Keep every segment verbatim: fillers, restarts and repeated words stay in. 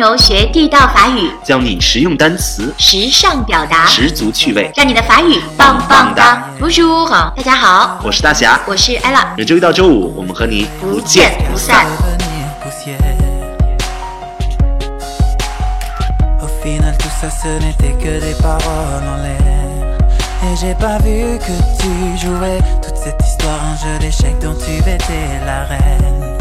牛学地道法语， 教你实用单词， 时尚表达， 十足趣味， 让你的法语棒棒哒。Bonjour，大家好， 我是大侠， 我是 Ella。 每周一到周五，我们和你不见不散。 Final tout ça ce n'était que des paroles en l'air Et j'ai pas vu que tu jouais toute cette histoire un jeu d'échecs dont tu étais la reine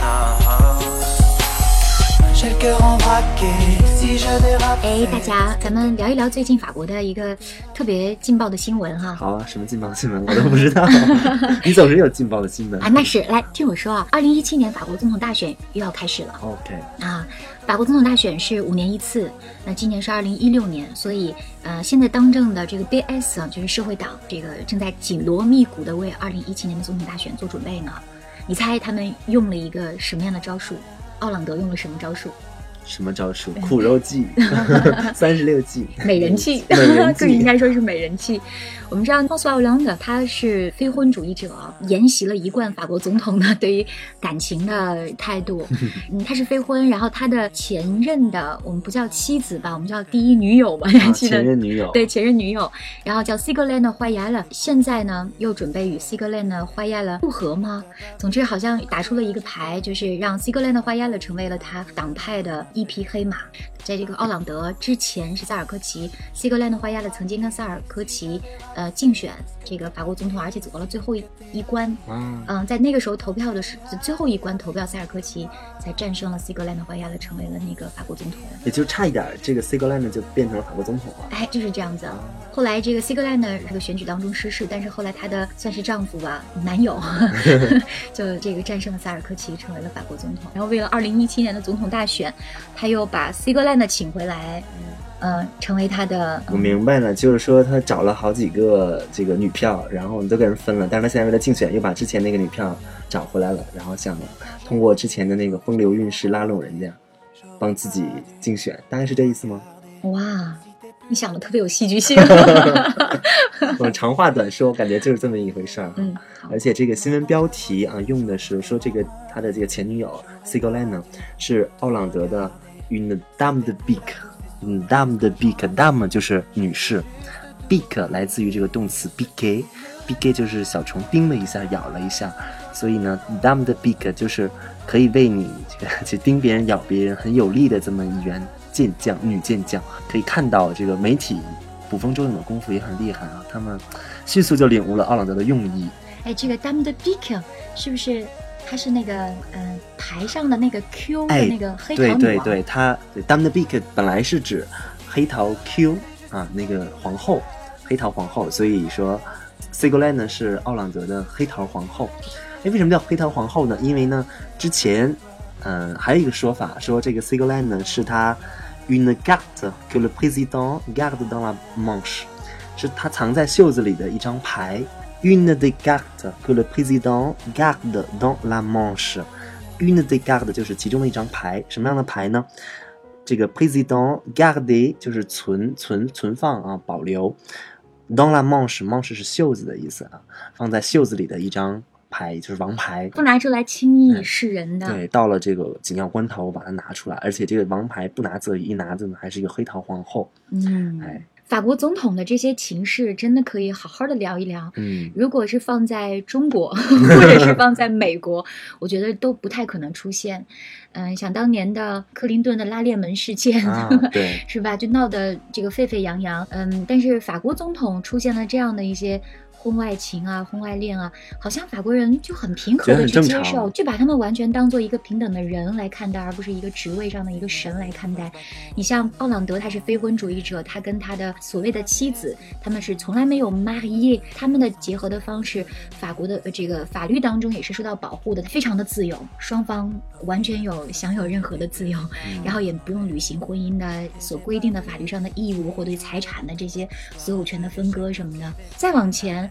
J'ai le cœur en braqué si je dérape 哎，大家，咱们聊一聊最近法国的一个特别劲爆的新闻哈。 好啊，什么劲爆的新闻我都不知道你总是有劲爆的新闻啊，那是，来听我说啊，二零一七年法国总统大选又要开始了。 OK 啊，法国总统大选是五年一次，那今年是二零一六年，所以呃，现在当政的这个 B S 啊，就是社会党，这个正在紧锣密鼓的为二零一七年的总统大选做准备呢。你猜他们用了一个什么样的招数？奥朗德用了什么招数？ 什么招数？苦肉计三十六计美人计更应该说是美人计。我们知道 François Hollande 他是非婚主义者，沿袭了一贯法国总统的对于感情的态度嗯，他是非婚，然后他的前任的我们不叫妻子吧，我们叫第一女友吧、啊、 前任女友， 对，前任女友，然后叫 Ségolène Royal， 现在呢又准备与 Ségolène Royal 复合吗？总之好像打出了一个牌，就是让 Ségolène Royal 成为了他党派的一匹黑马。在这个奥朗德之前是萨尔科齐，西格兰的花亚的曾经跟萨尔科齐呃竞选这个法国总统，而且走到了最后一一关。嗯、呃，在那个时候投票的是最后一关投票，萨尔科齐才战胜了西格兰的花亚的，成为了那个法国总统。 也就差一点，这个西格兰的就变成了法国总统了。 哎，就是这样子。后来这个西格兰的这个选举当中失势，但是后来他的算是丈夫吧，男友就这个战胜了萨尔科齐，成为了法国总统。然后为了二零一七年的总统大选，他又把西格兰的请回来，呃，成为他的、嗯。 我明白了，就是说他找了好几个这个女票，然后都跟人分了，但是他现在为了竞选，又把之前那个女票找回来了，然后想通过之前的那个风流韵事拉拢人家，帮自己竞选，大概是这意思吗？ 哇，你想的特别有戏剧性。 我长话短说，感觉就是这么一回事儿。 嗯， 而且这个新闻标题啊，用的是说这个他的这个前女友 Ségolène 是奥朗德的 une dame de pique。une dame de pique， dame 就是女士 ，pique 来自于这个动词 piquer，piquer 就是小虫叮了一下，咬了一下，所以呢 dame de pique 就是可以为你这个去叮别人、咬别人很有力的这么一员健将，女健将。可以看到这个媒体捕风捉影的功夫也很厉害啊，他们迅速就领悟了奥朗德的用意。 哎，这个 dame de pique 是不是？它是那个呃牌上的那个 Q 的那个黑桃女王、哎、 对对对，它 Dame de Pique 本来是指黑桃 Q 啊，那个皇后，黑桃皇后，所以说 Ségolène 呢是奥朗德的黑桃皇后。哎，为什么叫黑桃皇后呢？因为呢之前嗯、呃、还有一个说法说这个 Ségolène 呢是他 une carte que le président garde dans la manche， 是他藏在袖子里的一张牌。Une des cartes que le président garde dans la manche. Une des cartes 就是其中的一张牌，什么样的牌呢？这个 président garde 就是存存存放啊，保留。dans la manche， manche 是袖子的意思啊，放在袖子里的一张牌，就是王牌， 不拿出来轻易示人的。 嗯、对，到了这个紧要关头，我把它拿出来，而且这个王牌不拿则已，一拿着呢还是一个黑桃皇后。 嗯，哎。法国总统的这些情势真的可以好好的聊一聊。 嗯， 如果是放在中国或者是放在美国，我觉得都不太可能出现。嗯、呃，想当年的克林顿的拉链门事件， 啊、对， 是吧？就闹得这个沸沸扬扬。嗯，但是法国总统出现了这样的一些婚外情啊、婚外恋啊，好像法国人就很平和的去接受，就把他们完全当做一个平等的人来看待，而不是一个职位上的一个神来看待。你像奥朗德，他是非婚主义者，他跟他的所谓的妻子，他们是从来没有 marié， 他们的结合的方式，法国的这个法律当中也是受到保护的，非常的自由，双方完全有享有任何的自由，然后也不用履行婚姻的所规定的法律上的义务或对财产的这些所有权的分割什么的。再往前。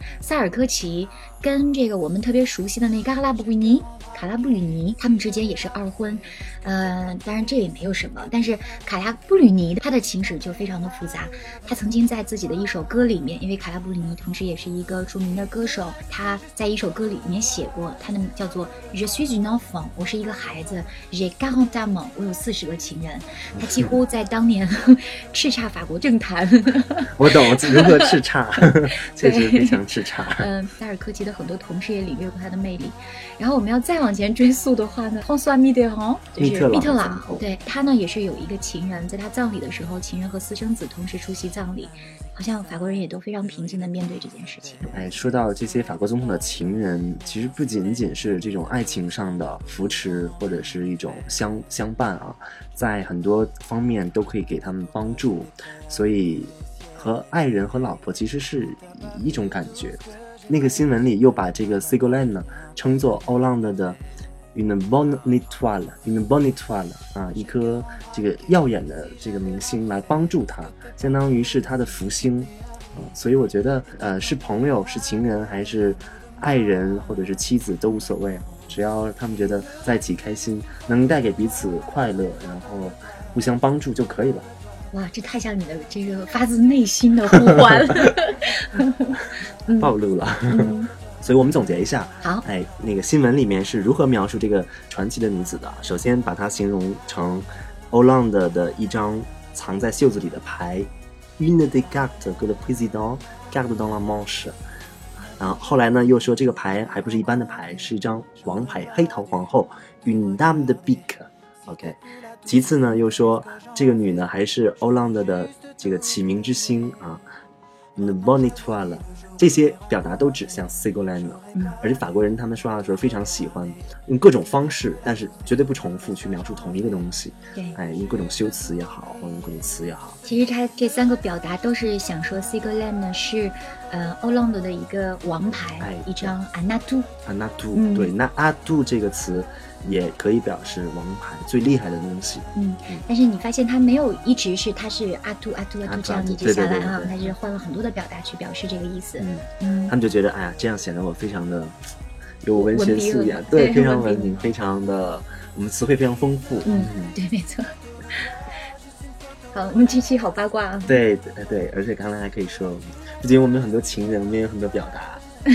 萨尔科齐跟这个我们特别熟悉的那个卡拉布吕尼卡拉布吕尼他们之间也是二婚，呃，当然这也没有什么，但是卡拉布吕尼他的情史就非常的复杂。他曾经在自己的一首歌里面，因为卡拉布吕尼同时也是一个著名的歌手，他在一首歌里面写过，他的叫做 Je suis une enfant， 我是一个孩子 J'ai quarante amants， 我有四十个情人。他几乎在当年叱咤法国政坛我懂如何叱咤确实非常叱咤。 嗯，萨尔科齐的很多同事也领略过他的魅力。然后我们要再往前追溯的话呢，方苏阿密特朗就是密特朗，对他呢也是有一个情人，在他葬礼的时候，情人和私生子同时出席葬礼，好像法国人也都非常平静地面对这件事情。 哎，说到这些法国总统的情人，其实不仅仅是这种爱情上的扶持或者是一种相相伴啊，在很多方面都可以给他们帮助，所以和爱人和老婆其实是一种感觉。那个新闻里又把这个 Ségolène 呢称作 Hollande 的 une bonne étoile une bonne étoile 啊，一颗这个耀眼的这个明星来帮助他，相当于是他的福星。嗯、所以我觉得呃是朋友是情人还是爱人或者是妻子都无所谓，只要他们觉得在一起开心，能带给彼此快乐，然后互相帮助就可以了。 哇，这太像你的这个发自内心的呼唤了暴露了、嗯、所以我们总结一下， 好， 哎，那个新闻里面是如何描述这个传奇的女子的。首先把它形容成 Hollande 的一张藏在袖子里的牌 Une des cartes que le président garde dans la manche， 然后后来呢又说这个牌还不是一般的牌，是一张王牌，黑桃皇后 Une dame de pique。 OK， 其次呢又说这个女呢还是 Hollande 的这个启明之星啊，Une bonne étoile， 这些表达都指向 Ségolène， 嗯，而且法国人他们说话的时候非常喜欢用各种方式，但是绝对不重复去描述同一个东西。 对， 哎，用各种修辞也好，或者用各种词也好。 其实他这三个表达都是想说 Ségolène 呢是呃 Hollande 的一个王牌，哎，一张 un atout。un atout，嗯，对，那 atout 这个词也可以表示王牌，最厉害的东西。 嗯，嗯，但是你发现他没有一直是他是阿杜阿杜阿杜这样一直下来啊，他是换了很多的表达去表示这个意思。嗯嗯， 他们就觉得哎呀，这样显得我非常的有文学素养，对，非常文明，非常的我们词汇非常丰富。 嗯，嗯对，没错。好，我们这期好八卦啊。 对对对，而且刚才还可以说，不仅我们有很多情人，我们也有很多表达。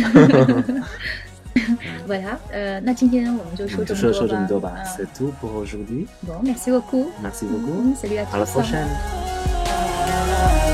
Voilà， 呃，那今天我们就说这么多吧。 就说这么多吧。C'est tout pour aujourd'hui. Bon, merci beaucoup. Merci beaucoup. Salut à tous. À la prochaine.